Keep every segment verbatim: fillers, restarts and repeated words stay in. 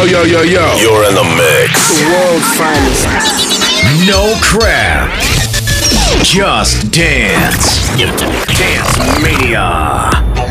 yo, yo, yo. You're in the mix. The world finest. No crap. Just dance. Dance Mania.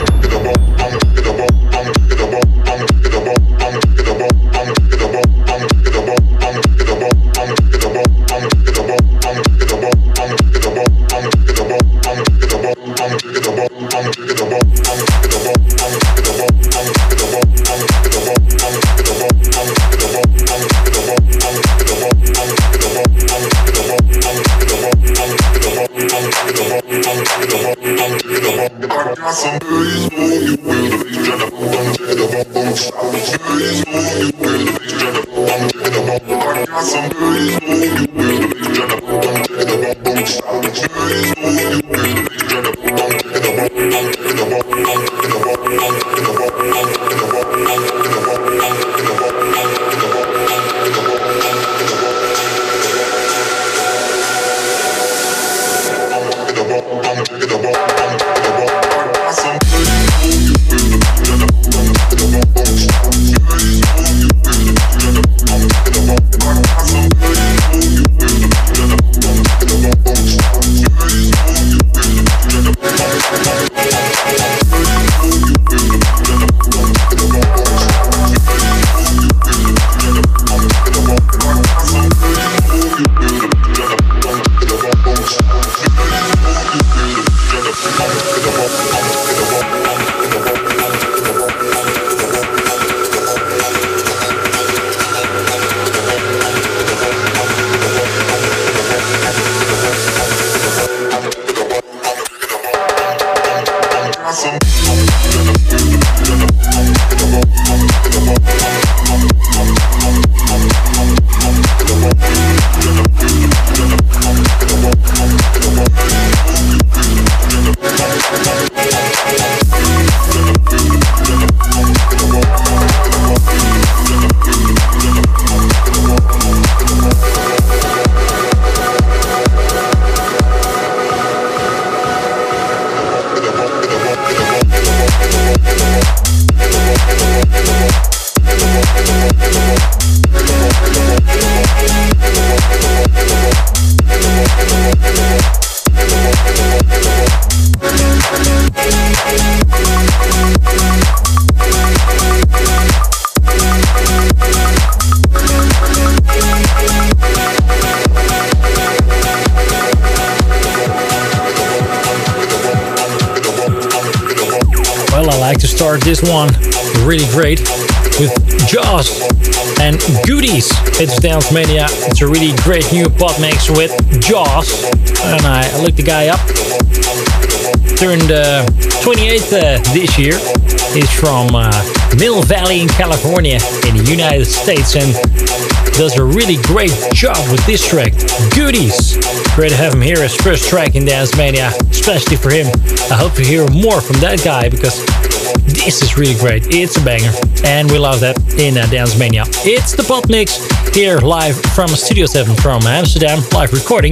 This one really great with Jaws and Goodies. It's Dance Mania. It's a really great new pot mix with Jaws, and I looked the guy up. Turned uh, twenty-eight uh, this year. He's from uh, Mill Valley in California in the United States and does a really great job with this track, Goodies. Great to have him here as first track in Dance Mania, especially for him. I hope to hear more from that guy because this is really great. It's a banger, and we love that in uh, Dance Mania. It's the Pot Mix here live from Studio seven from Amsterdam, live recording.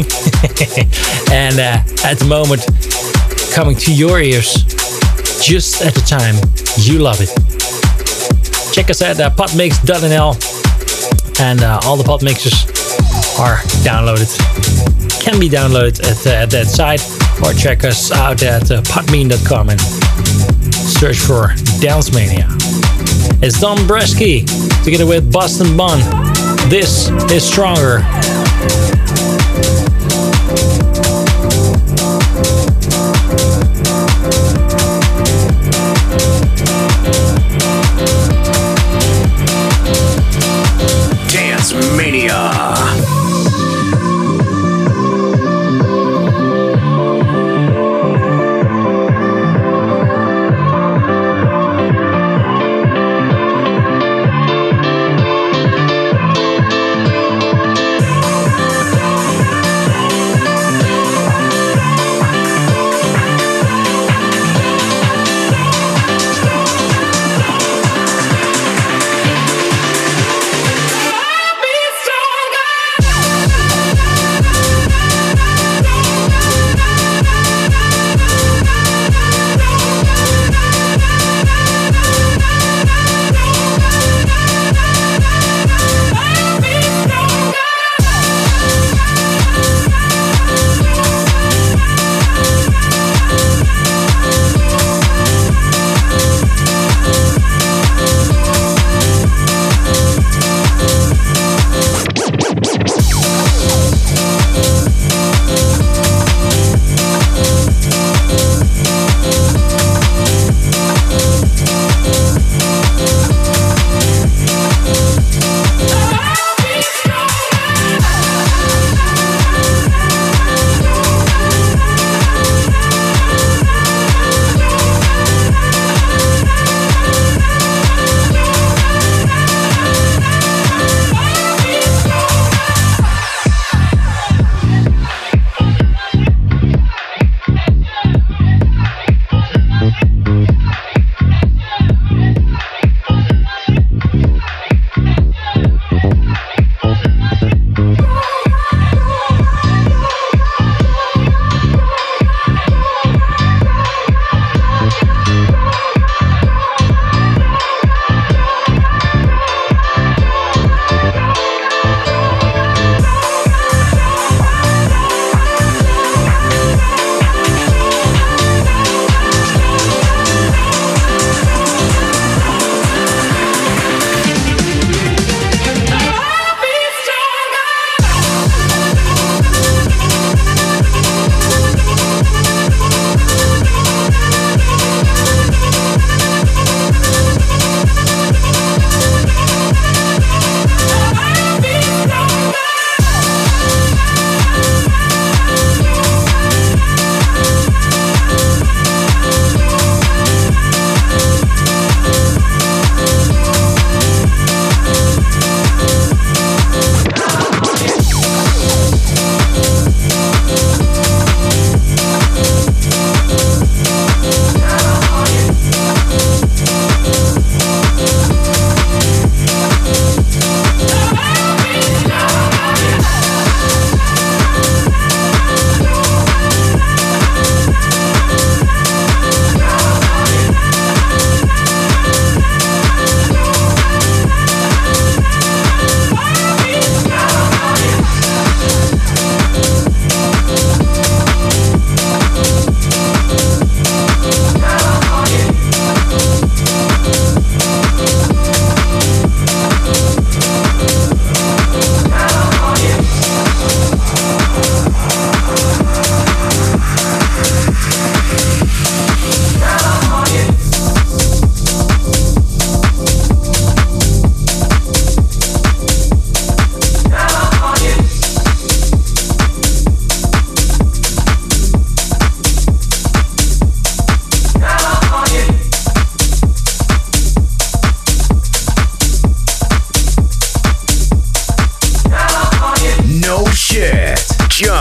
And uh, at the moment, coming to your ears just at the time you love it. Check us at uh, potmix dot n l, and uh, all the pot mixes are downloaded. Can be downloaded at, uh, at that site, or check us out at uh, potmean dot com and search for Dance Mania. It's Don Bresky together with Boston Bun. This is Stronger. Dance Mania.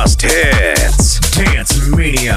Just hits. Dance Mania.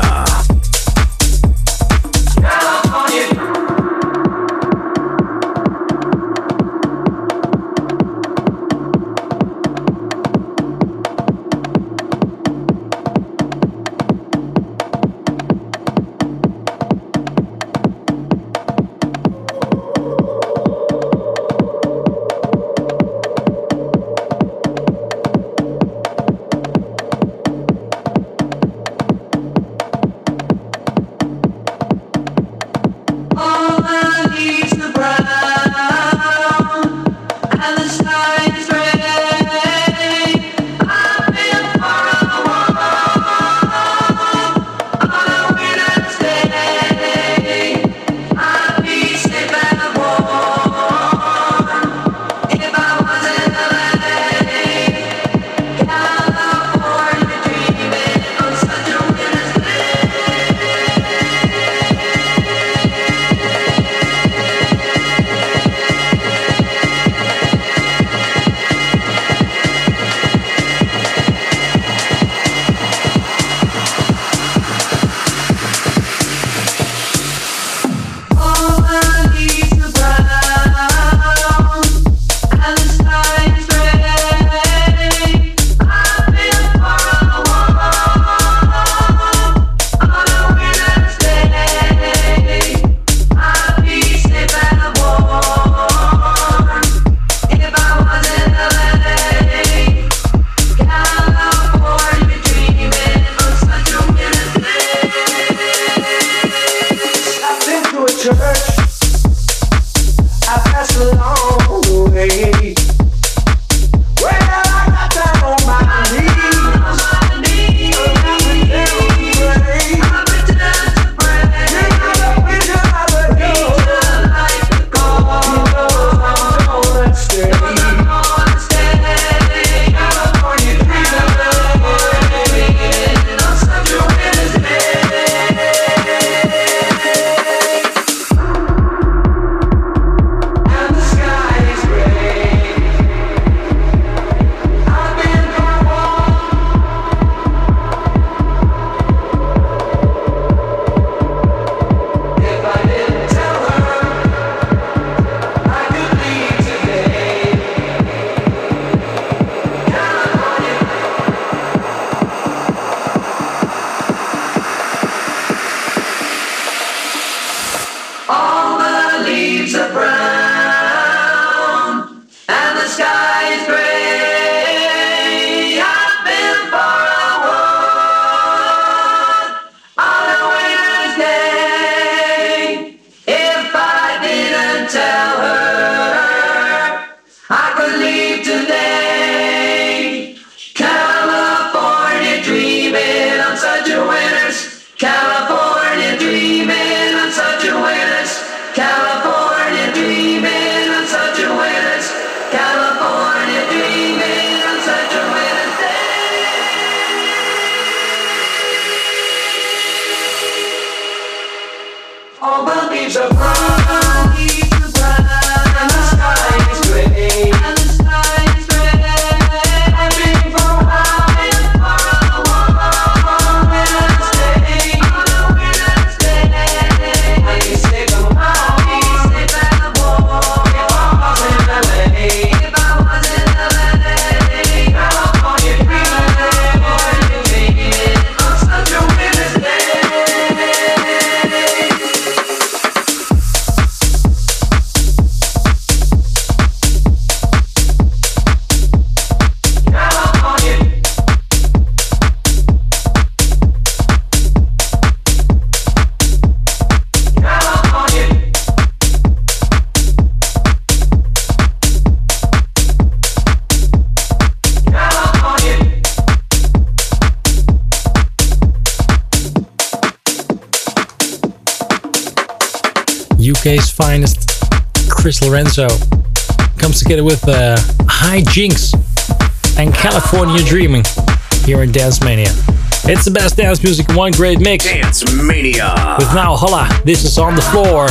U K's finest, Chris Lorenzo, comes together with uh, High Jinx and California Dreaming here in Dance Mania. It's the best dance music in one great mix. Dance Mania. With Now Holla, this is On The Floor.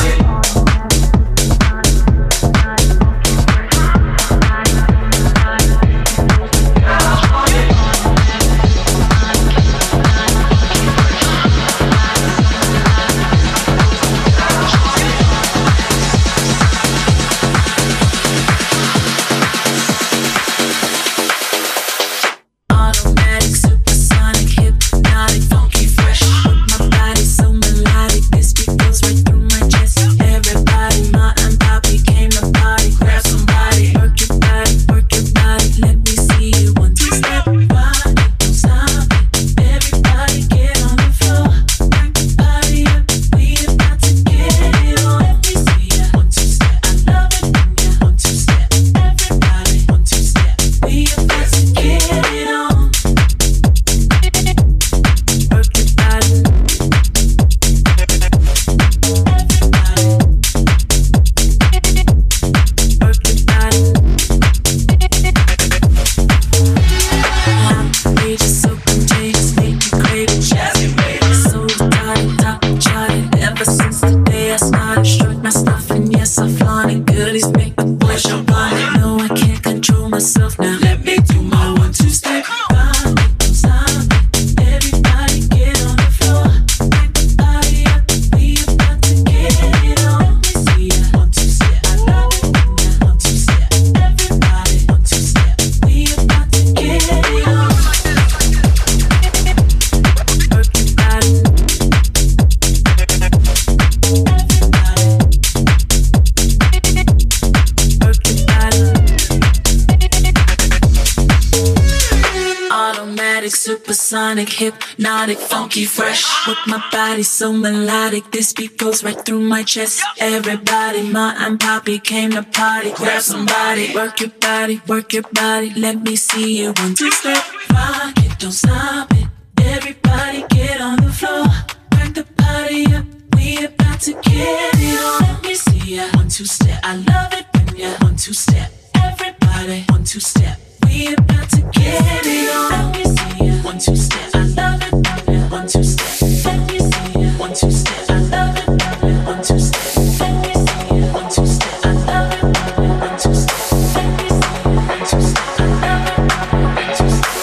supersonic, hypnotic, funky, fresh. With my body so melodic, this beat goes right through my chest. Everybody, Ma and Poppy came to party. Grab somebody, work your body, work your body. Let me see you one two step. Rock it, don't stop it. Everybody get on the floor. Back the party up. We about to get it on. Let me see ya. One two step. I love it when ya one two step. Everybody, one two step. We about to get it on. Let me see ya. One two step. I love it when ya one two step. Let me see ya. One two step. I love it when ya one two step. Let me see ya. One two step. I love it when ya one two step. Let me see ya. One two step. I love it when ya one two step.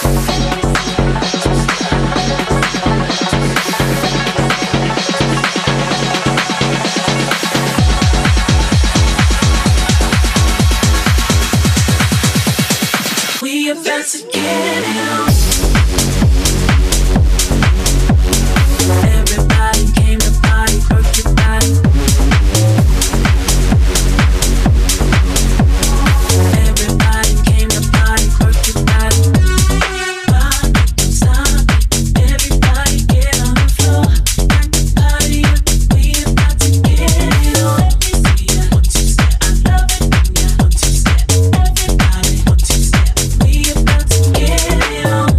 We about to get it on. Everybody came to party, work your body. Everybody came to party, work your body. Rock it, stop it. Everybody get on the floor. Back the party up. We about to get it on. Let me see ya. One two step. I love it when ya one two step. Everybody one two step. We about to get it on.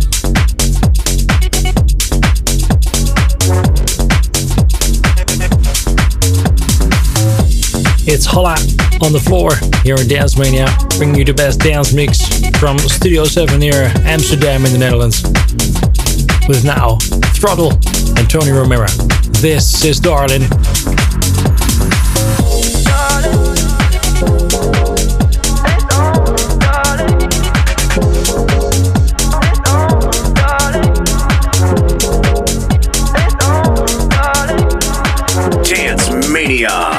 It's Holla on the floor here in Dance Mania, bringing you the best dance mix from Studio seven near Amsterdam in the Netherlands. With now Throttle and Tony Romero. This is Darling. Dance Mania.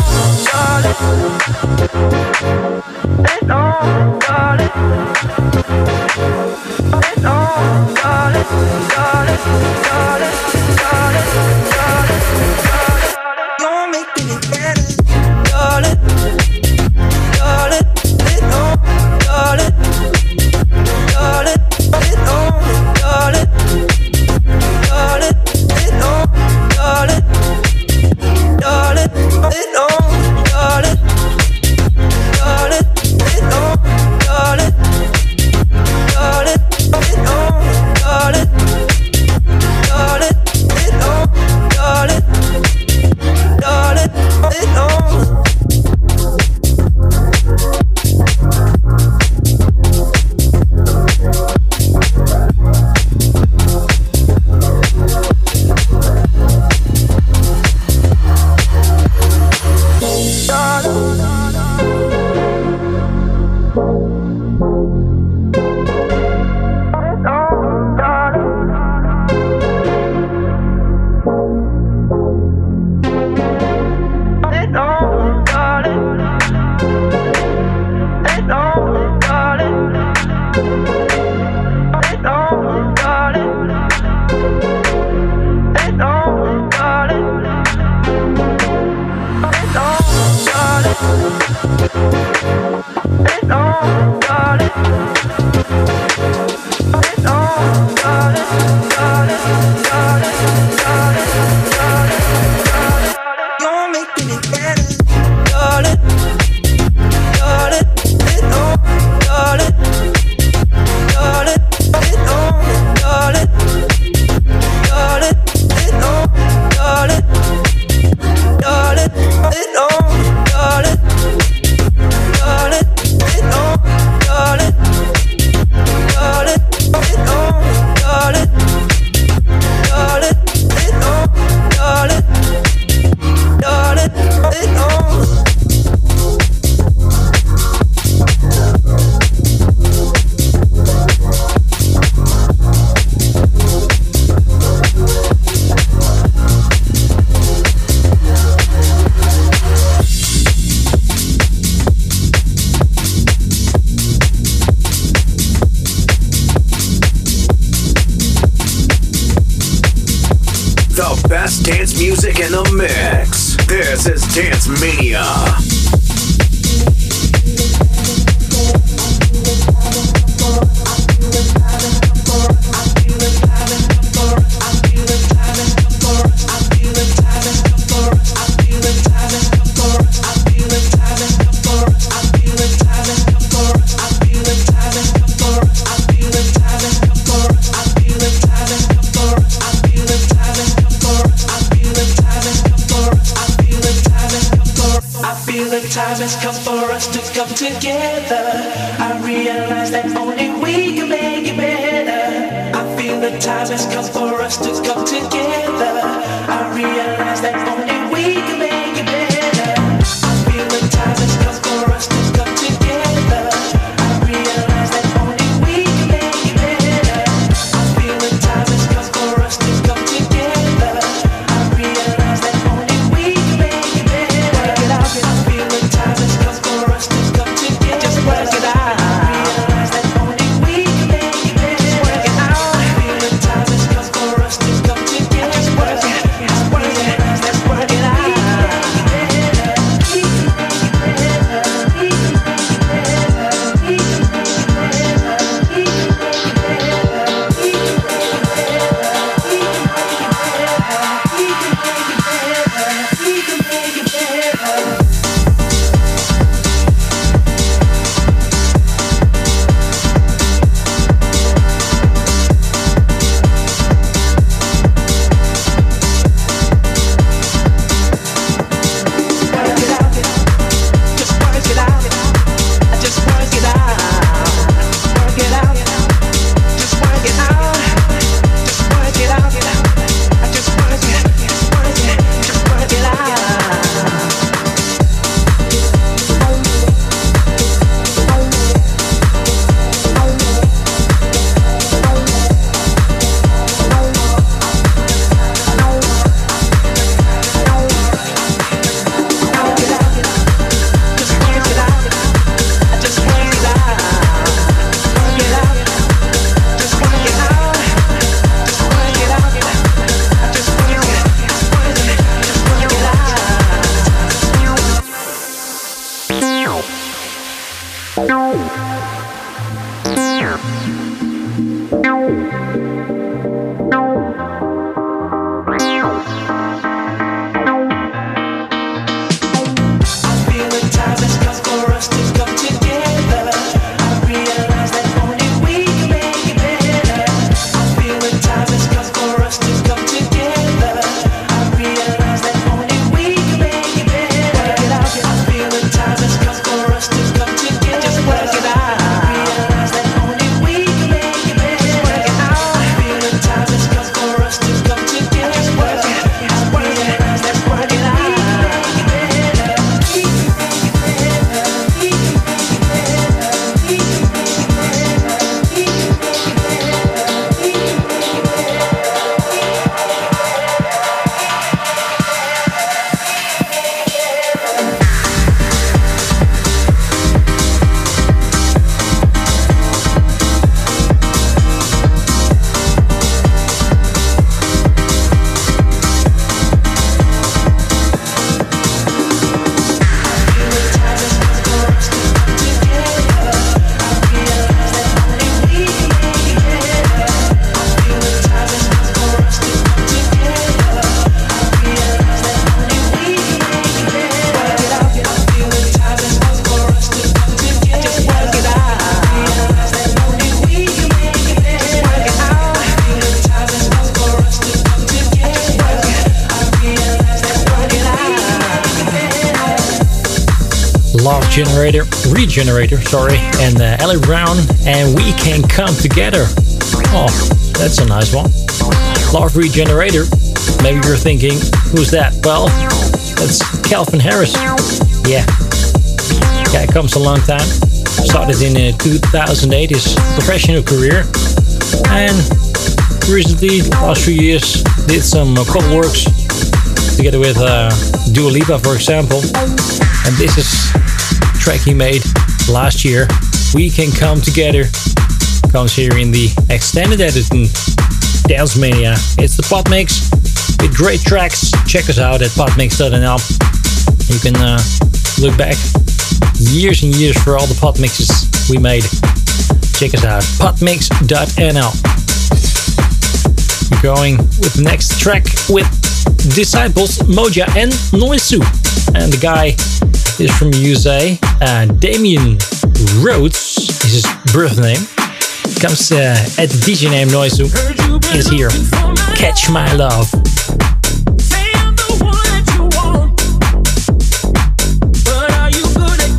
best dance music in the mix. This is Dance Mania. I feel it, has come for us to come together. I realize that only we can make it better. I feel the time has come for us to come together. I realize that only we can make it better. I feel the time has come for us to come together. I realize that only we can make it better. I feel the time has come for us to come together. I realize that only we can make it better. I feel the time has come for us to come together. Just work it out. I realize that only we can make it better. Just work it out. I feel the time has come for us to come together. Just work it. Just work it. Let's work it out. Love Generator, Regenerator, sorry, and uh, Ellie Brown, and We Can Come Together. Oh, that's a nice one. Love Regenerator. Maybe you're thinking, who's that? Well, that's Calvin Harris. Yeah, guy comes a long time. Started in uh, two thousand eight, his professional career, and recently, last few years, did some uh, cover works together with uh, Dua Lipa, for example. And this is a track he made last year. We Can Come Together comes here in the extended edition Dance Mania. It's the Pod Mix with great tracks. Check us out at podmix dot n l. You can uh, look back years and years for all the Pod Mixes we made. Check us out, podmix dot n l. We're going with the next track with Disciples, Moja and Noisu. And the guy is from U S A. Uh, Damian Rhodes is his birth name. Comes uh, at the D J name Noisu. Is here. Catch My Love. Say I'm the one that you want, but are you good at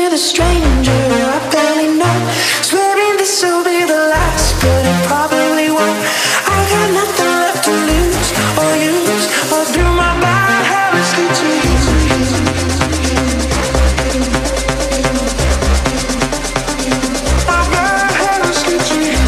with a stranger I barely know. Swearing this will be the last, but it probably won't. I got nothing left to lose or use, or do my bad habits lead to you? My bad habits lead to you.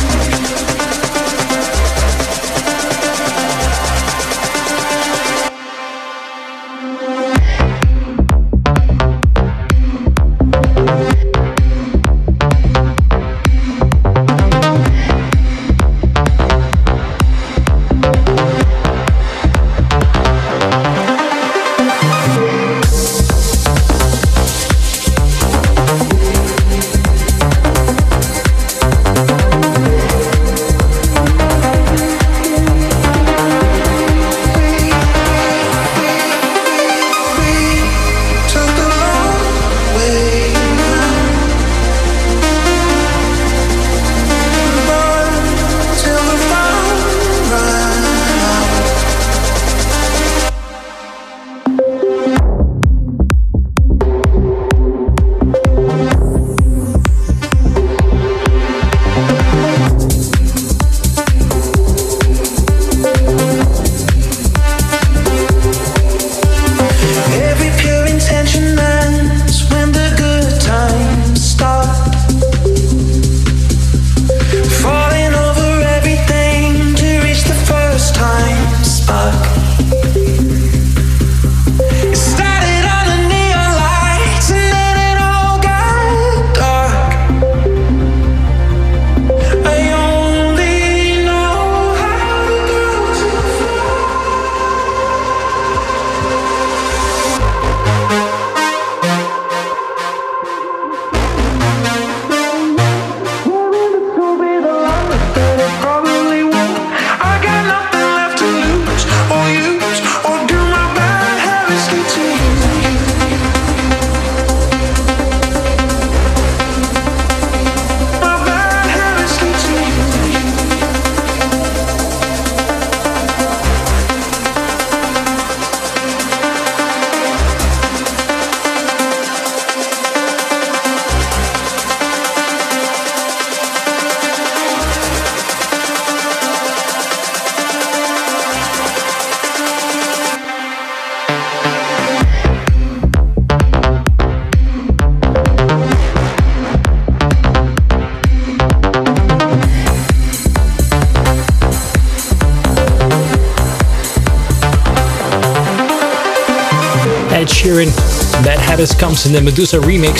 Ed Sheeran, Bad Habits comes in the Medusa remix.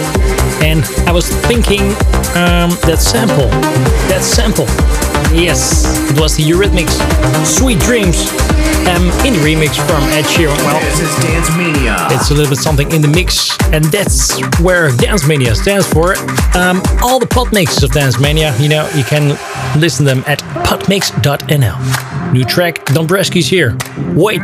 And I was thinking, um, that sample, that sample, yes, it was the Eurythmics, Sweet Dreams, um, in the remix from Ed Sheeran. Well, this is Dance Mania. It's a little bit something in the mix, and that's where Dance Mania stands for. Um, all the pod mixes of Dance Mania, you know, you can listen them at podmix dot n l. New track, Dombresky's here. Wait.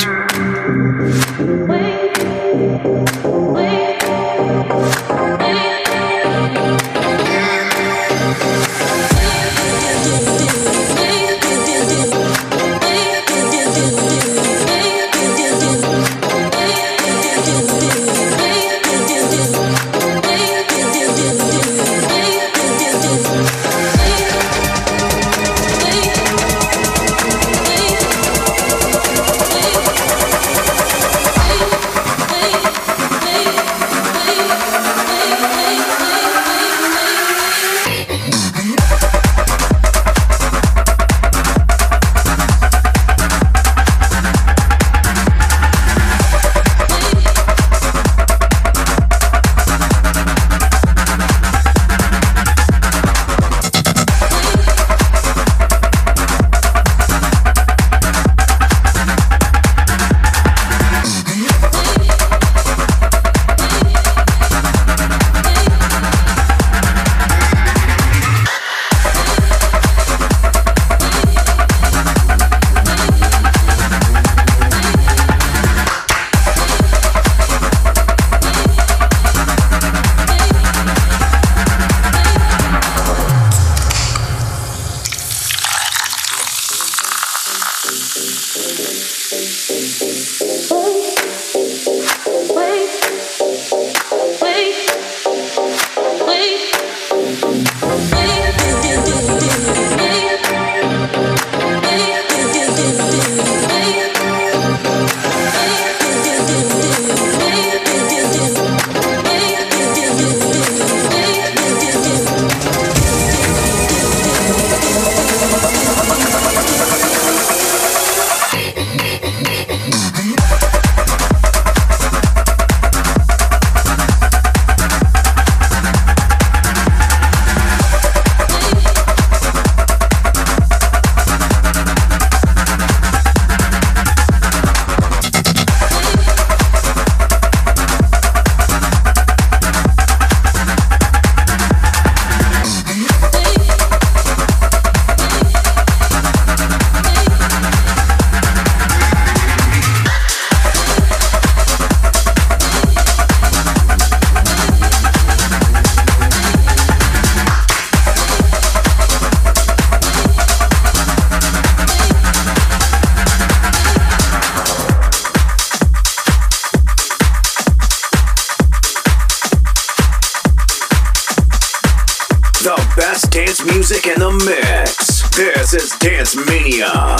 dance music in the mix. This is Dance Mania.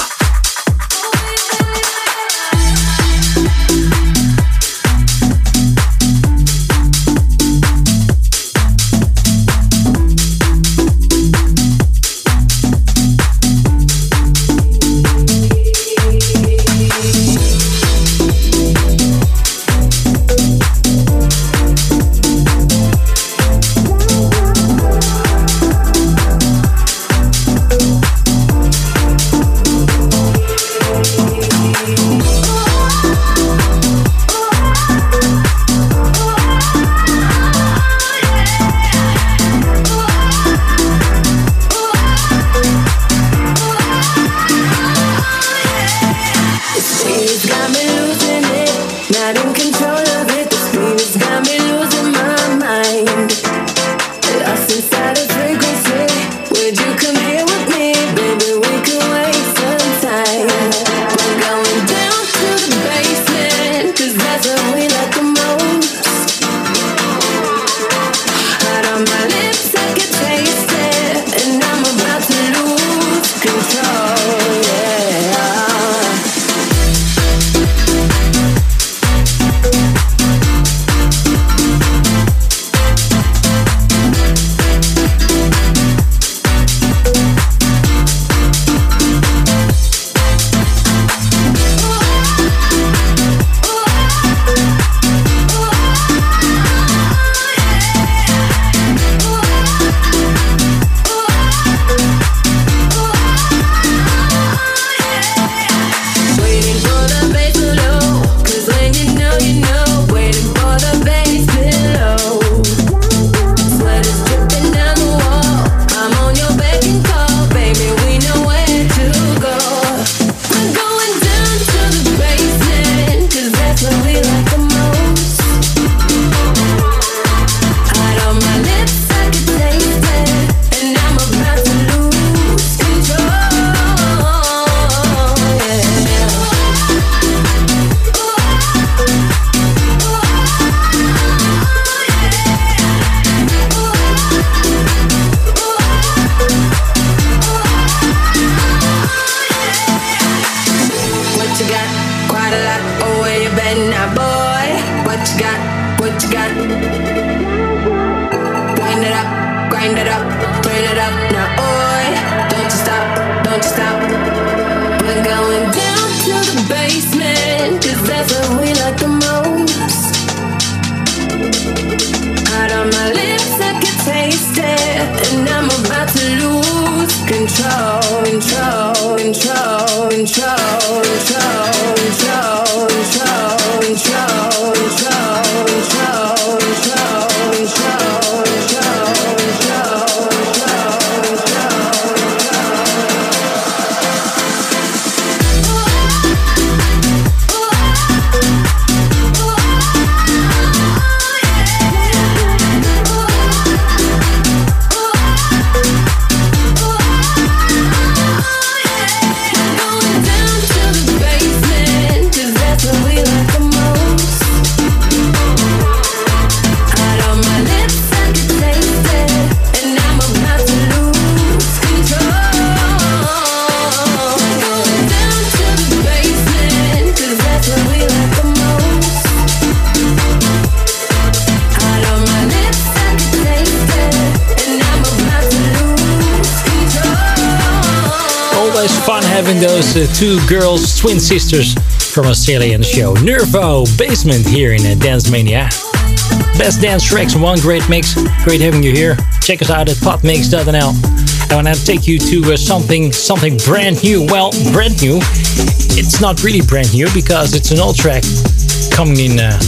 Having those uh, two girls, twin sisters from Australia on the show. Nervo Basement here in uh, Dance Mania. Best dance tracks, one great mix. Great having you here. Check us out at podmix dot n l. I want to take you to uh, something something brand new. Well, brand new. It's not really brand new because it's an old track coming in uh,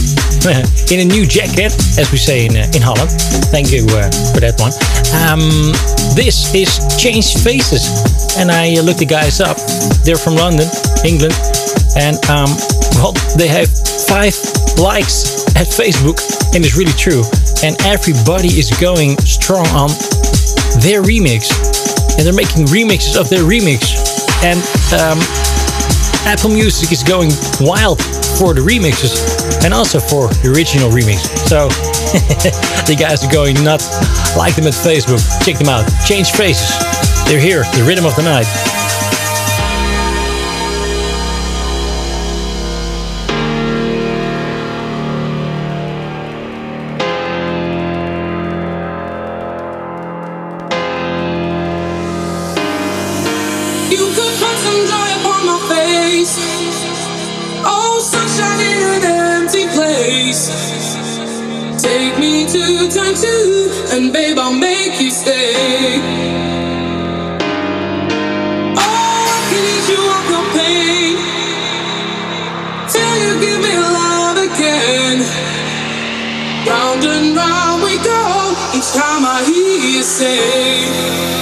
in a new jacket, as we say in uh, in Holland. Thank you uh, for that one. Um, this is Changed Faces. And I looked the guys up. They're from London, England. And, um, well, they have five likes at Facebook. And it's really true. And everybody is going strong on their remix. And they're making remixes of their remix. And um, Apple Music is going wild for the remixes. and also for the original remix. So the guys are going nuts. Like them at Facebook. Check them out. Change Faces. They're here. The rhythm of the night. Take me to time two, and babe, I'll make you stay. Oh, I can ease you of your pain till you give me love again. Round and round we go each time I hear you say.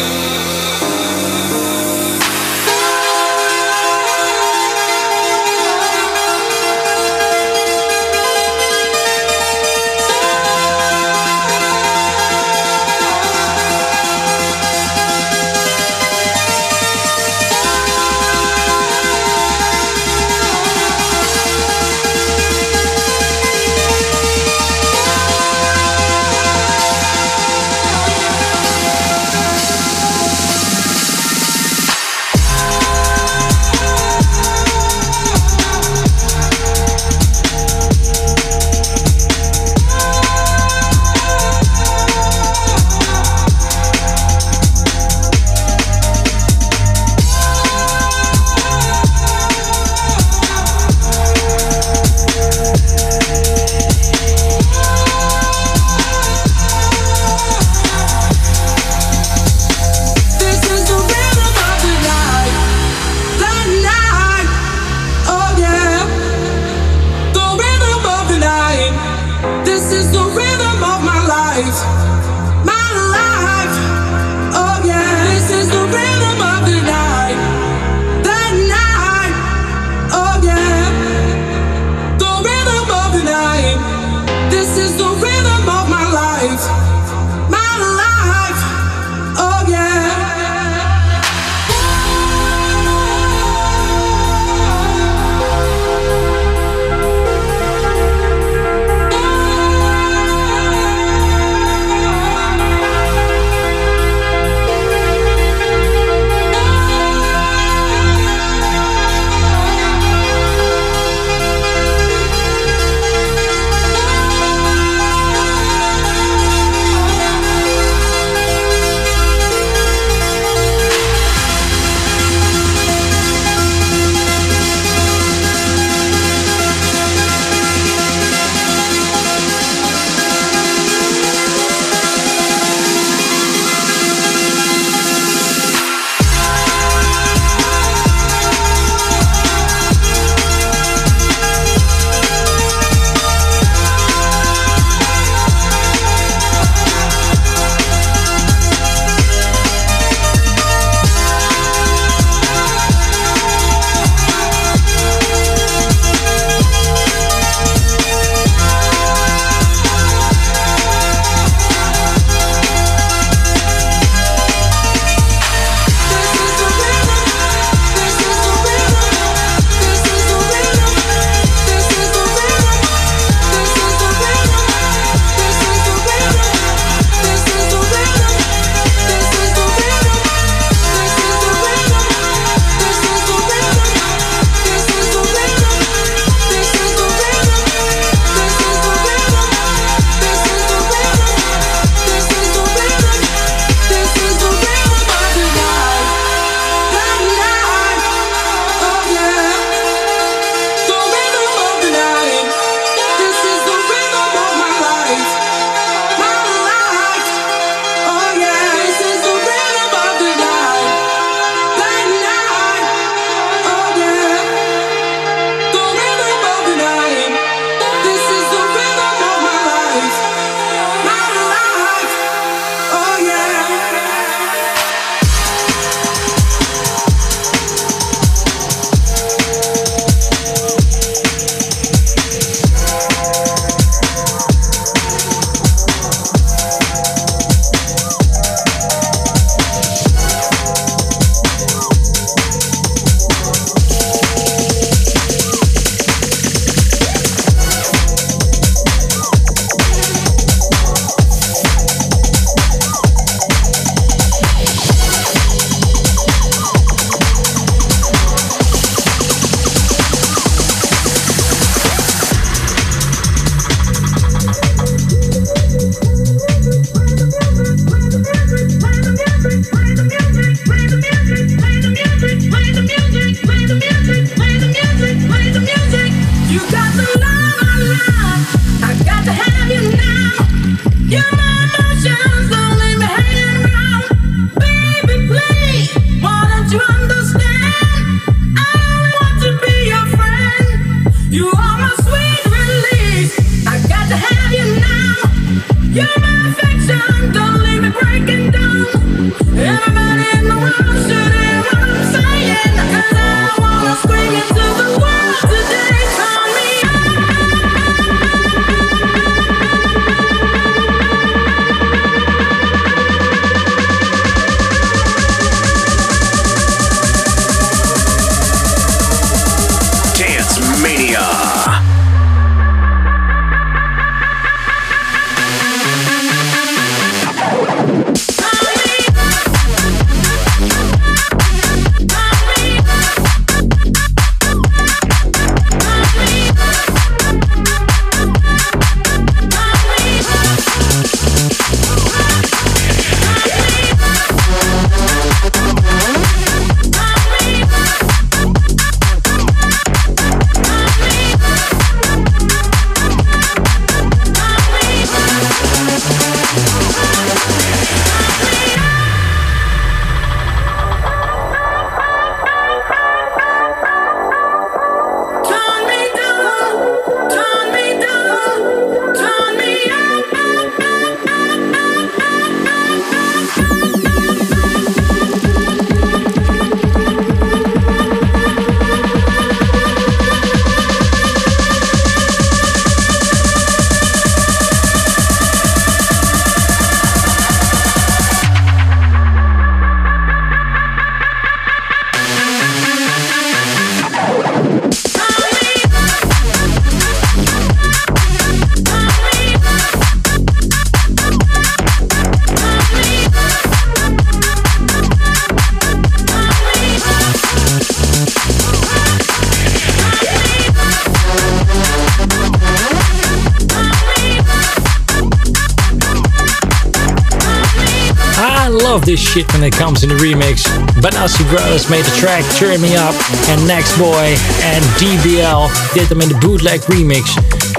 Love this shit when it comes in the remix. Banassi Brothers made the track Turn Me Up, and Next Boy and D B L did them in the bootleg remix.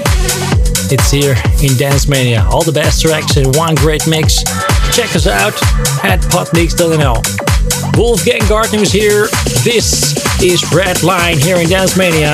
It's here in Dance Mania. All the best tracks in one great mix. Check us out at podmix dot n l. Wolfgang Gartner is here. This is Red Line here in Dance Mania.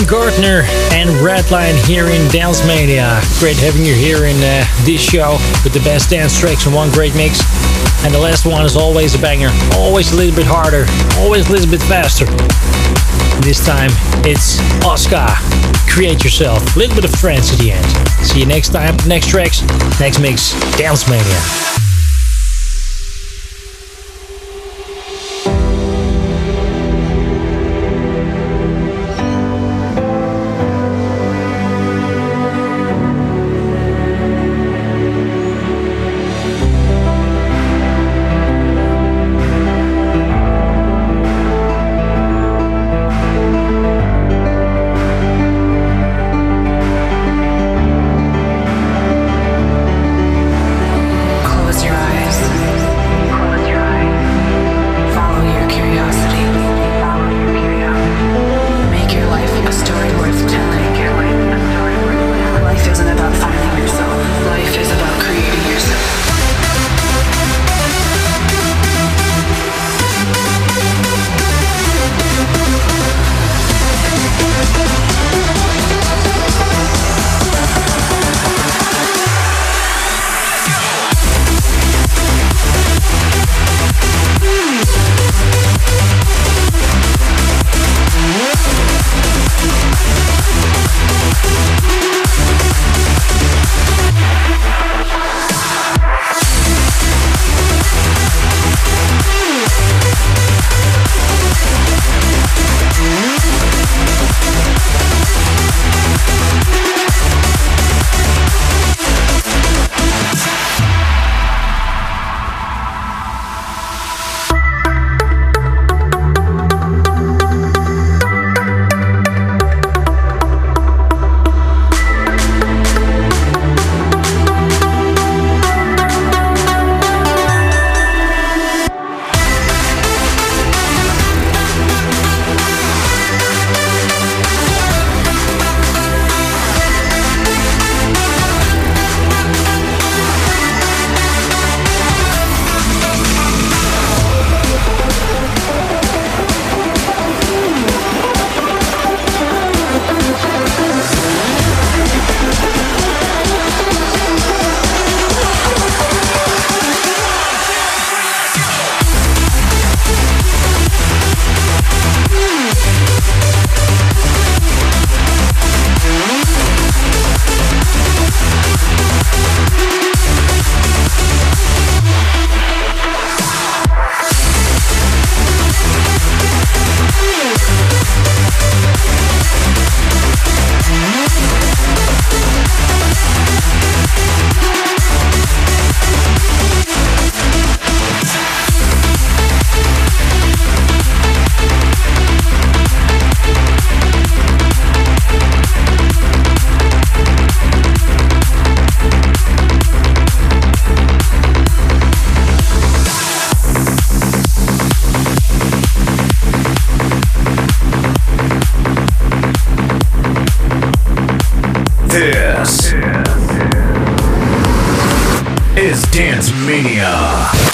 Gardner and Redline here in Dance Mania. Great having you here in uh, this show with the best dance tracks in one great mix. And the last one is always a banger, always a little bit harder, always a little bit faster. This time it's Oscar, Create Yourself, a little bit of trance at the end. See you next time, next tracks, next mix, Dance Mania. This is Dance Mania.